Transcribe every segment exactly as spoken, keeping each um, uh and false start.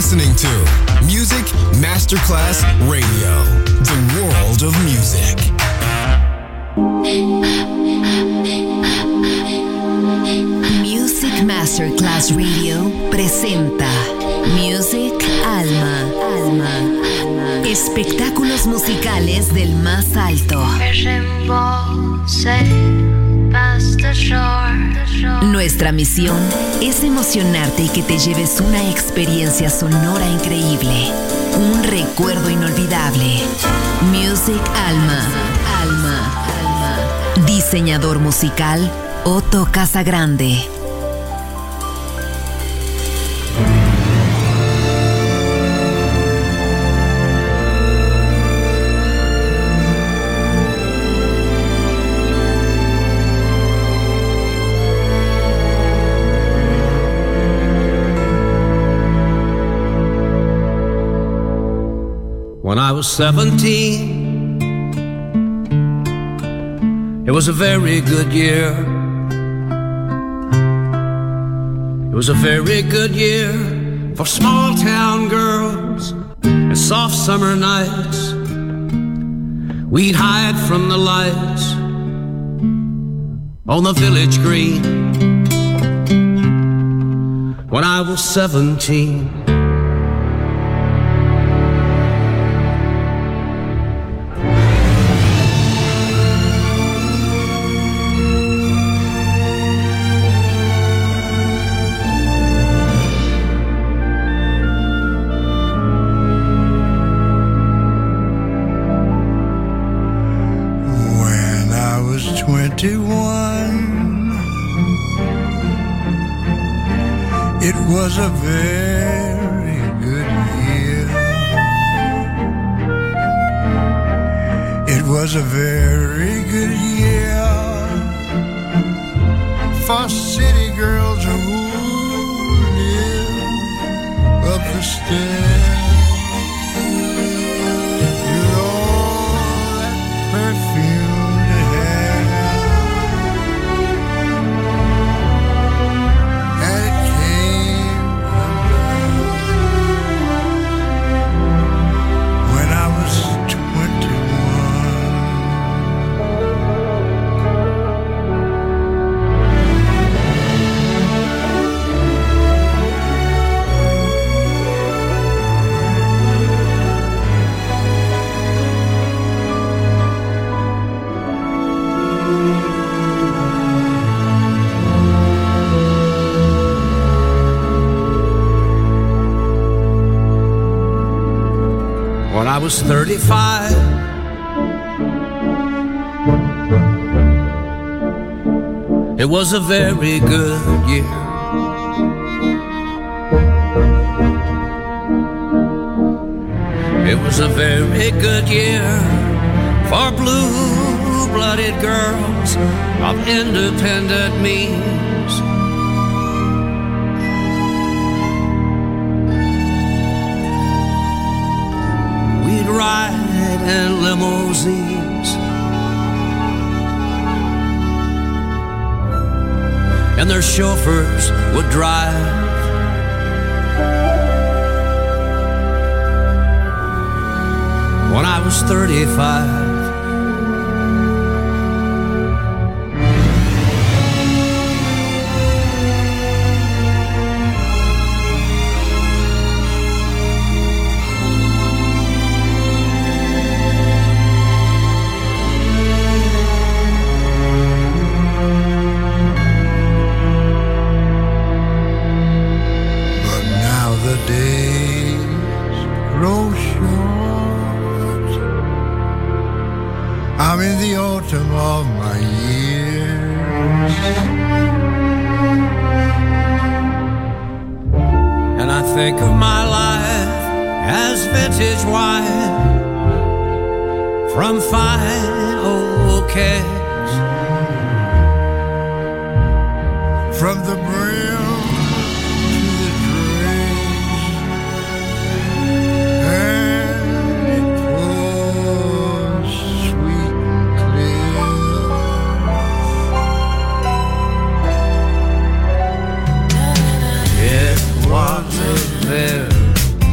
listening to Music Masterclass Radio, the world of music. Music Masterclass Radio presenta Music Alma, Alma, espectáculos musicales del más alto. Nuestra misión es emocionarte y que te lleves una experiencia sonora increíble, un recuerdo inolvidable. Music Alma, Alma, Alma. Diseñador musical Otto Casagrande. When I was seventeen, it was a very good year. It was a very good year for small town girls and soft summer nights. We'd hide from the lights on the village green. When I was seventeen, it was a very good year. It was a very good year for city girls who live up the stairs. With all that perfumed hair, and it came when I was twenty-one. When I was thirty-five, it was a very good year. It was a very good year for blue-blooded girls of independent means. Ride in limousines, and their chauffeurs would drive. When I was thirty-five, I'm in the autumn of my years, and I think of my life as vintage wine from fine old kegs, from the brim to the dregs, and it pours sweet and clear. It was a very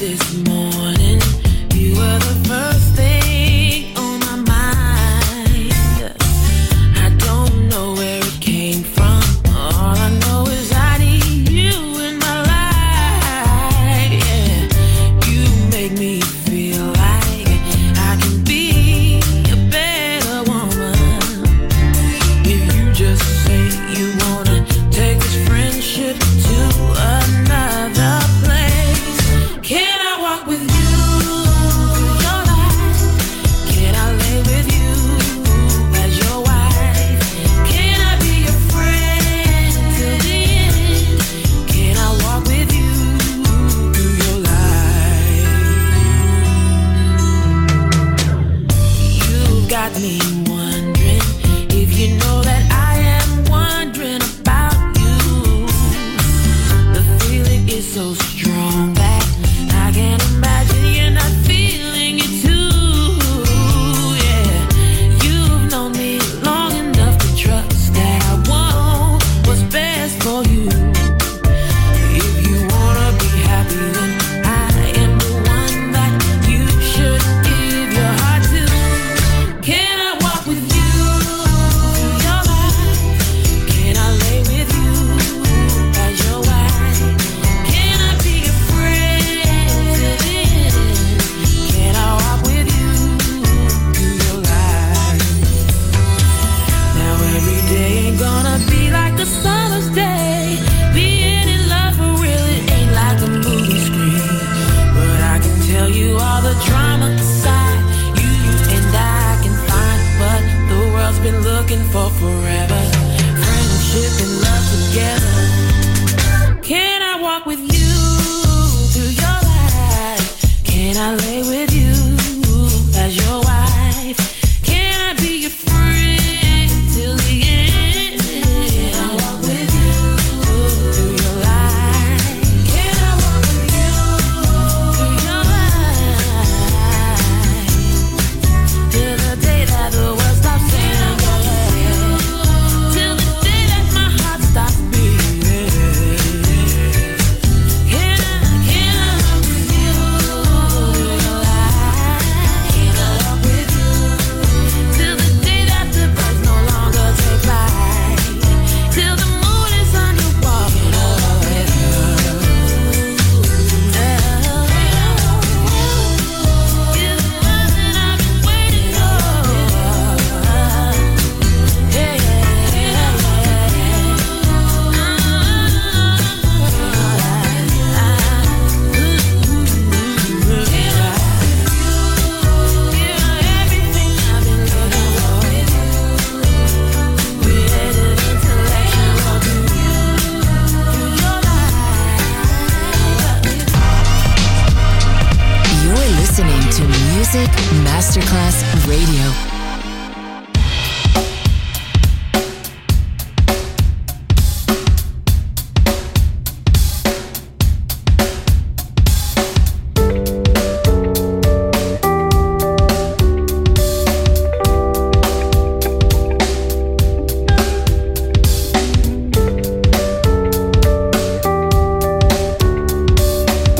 Masterclass Radio.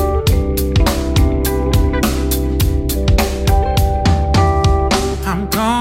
I'm gone.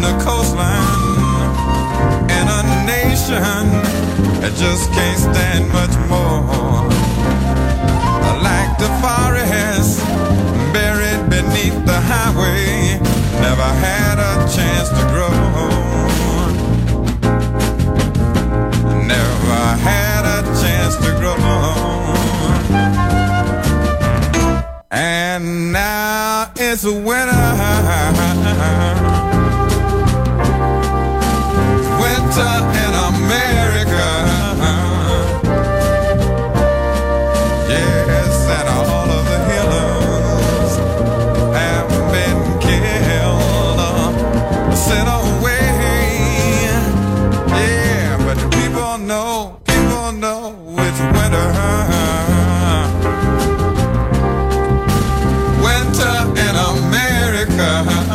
the coastline, and a nation that just can't stand much more. Like the forest buried beneath the highway, never had a chance to grow. Never had a chance to grow. And now it's winter. Winter in America. Yes, and all of the healers have been killed, sent away. Yeah, but the people know, people know it's winter. Winter in America.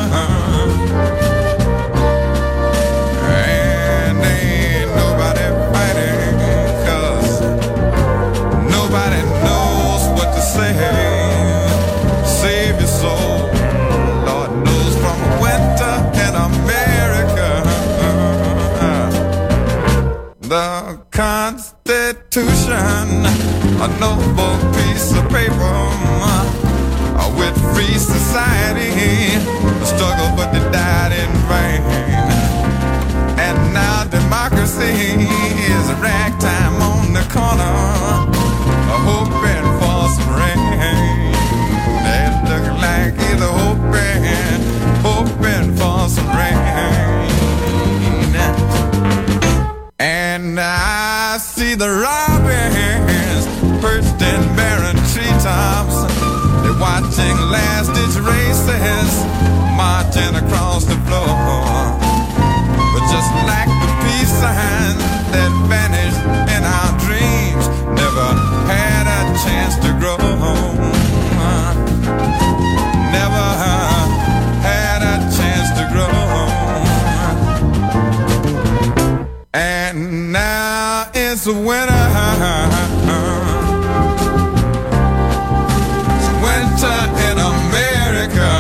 And ain't nobody fighting, 'cause nobody knows what to say. Save your soul, Lord knows, from winter in America. The Constitution, a noble piece of paper, with free society, a struggle but they died in vain. And now democracy is a ragtime on the corner, hoping for some rain. They look like either hoping, hoping for some rain. And I see the robins perched in barren treetops, watching last-ditch races marching across the floor. But just like the peace sign that vanished in our dreams, never had a chance to grow. Never had a chance to grow. And now it's winter. In America,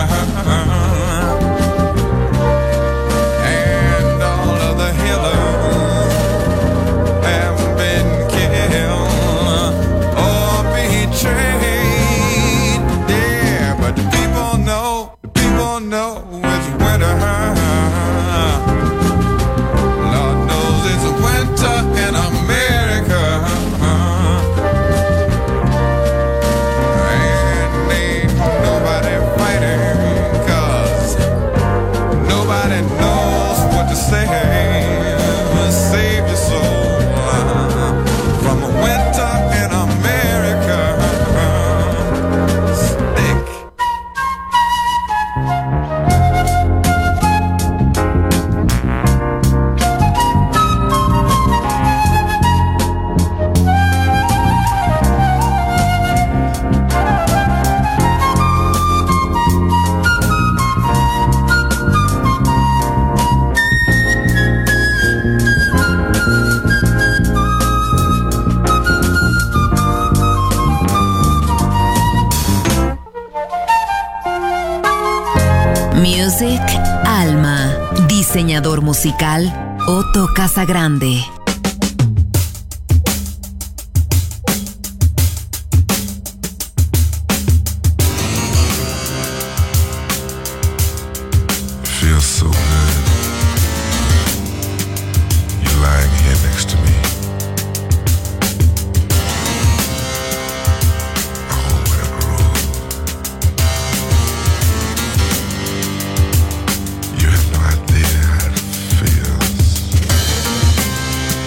and all of the healers have been killed or betrayed. Yeah, but the people know, the people know it's winter. Lord knows it's winter in America. Save your soul from a winter in America. Stick. Music Alma. Diseñador musical Otto Casagrande. Feels so good. You're lying here next to me. You have no idea how it feels.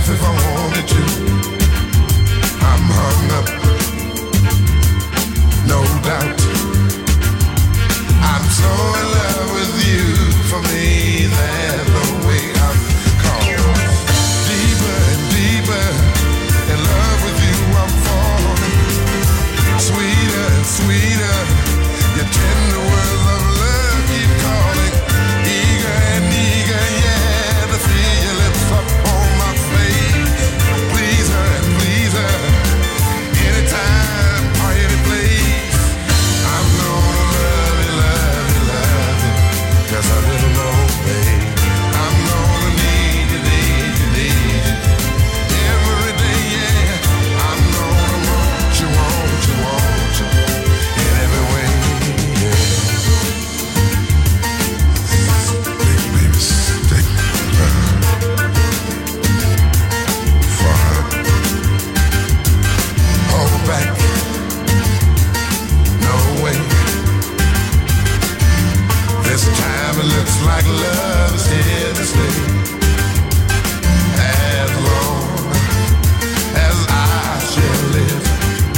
laugh if I wanted to. I'm hung up, no doubt. I'm so in love with you. For me, there's no way I'm caught. Deeper and deeper in love with you, I'm falling. Sweeter and sweeter, your tender words of love keep calling. Eager and eager, yeah, to feel your lips up on my face. Please her and please her, anytime or any place. I'm gonna love you, love you, love you, just a little more, babe. I'm gonna need you, need you, need you every day, yeah. I'm gonna want you, want you, want you in every way, yeah. Baby, baby, stick around. Far. Hold back. No way. This time it looks like love is here to stay. As long as I shall live,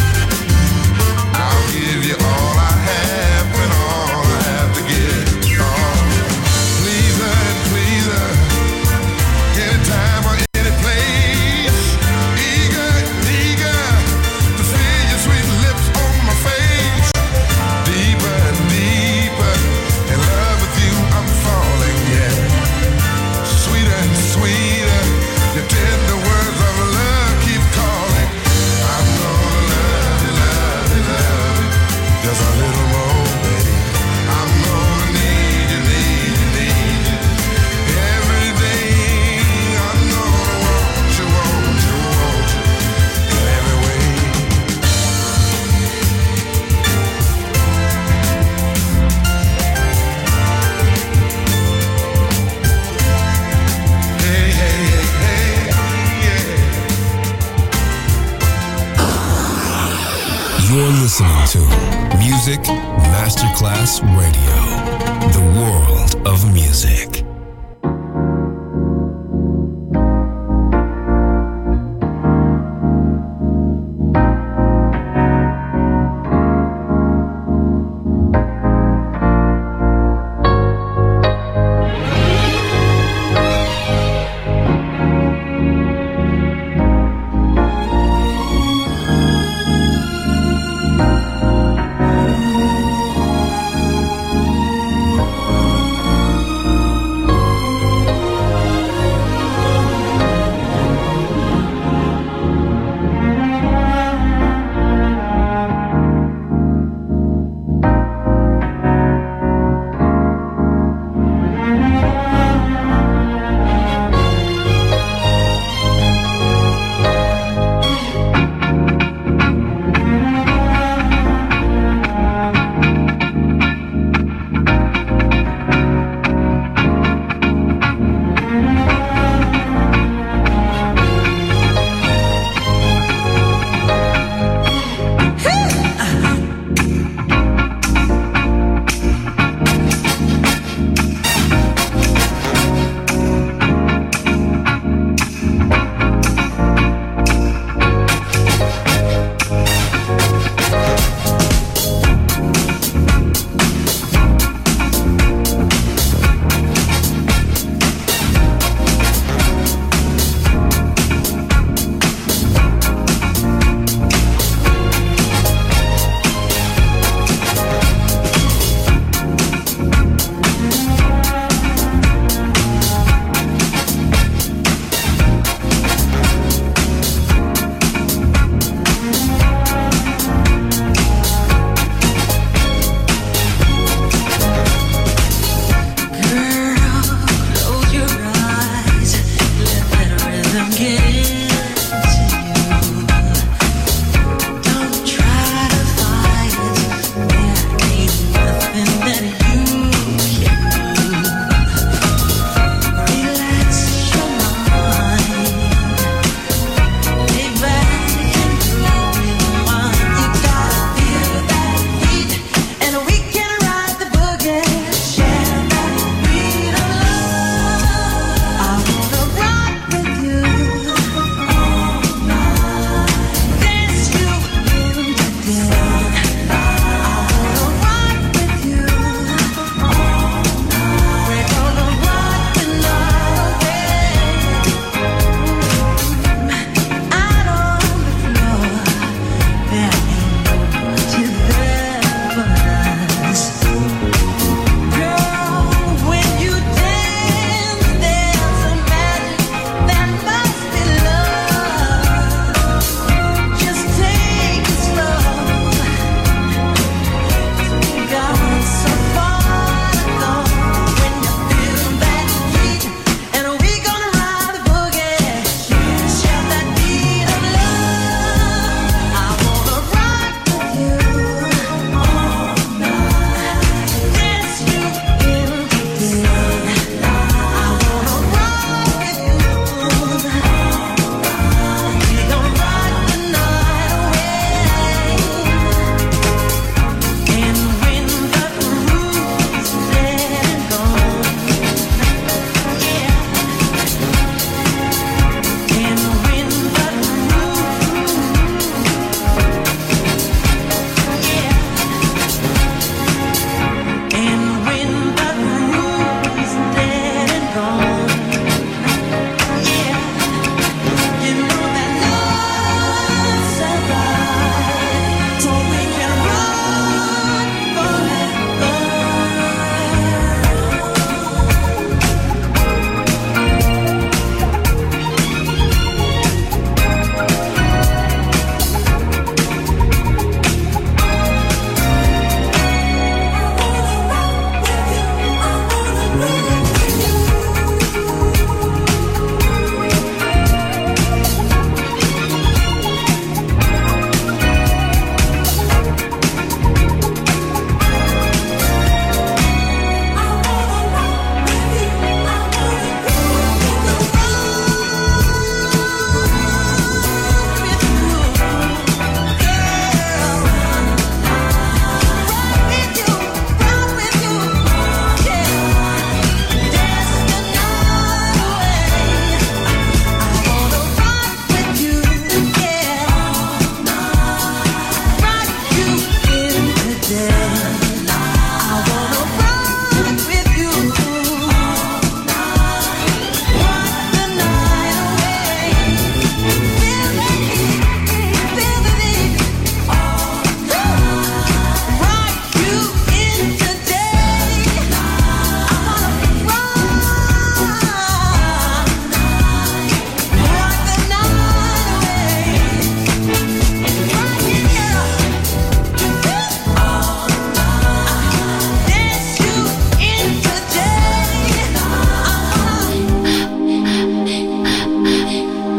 I'll give you all I have and all I have to give. Oh, please her and please her, anytime or any place. Eager, eager to feel your sweet lips on my face. Deeper and deeper in love with you, I'm falling, yeah. Sweeter and sweeter, your tender words of love keep calling. I'm gonna love you, love you, love you, just a little more, baby. I'm gonna need you, need you, need you every day. I'm gonna want you, want you, want you in every way. Hey, hey, hey, hey, yeah. You're listening to Music Masterclass Radio, the world of music.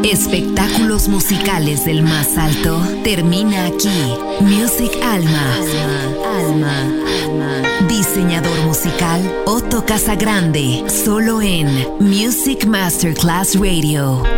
Espectáculos musicales del más alto termina aquí. Music Alma. Alma. Alma. Diseñador musical Otto Casagrande. Solo en Music Masterclass Radio.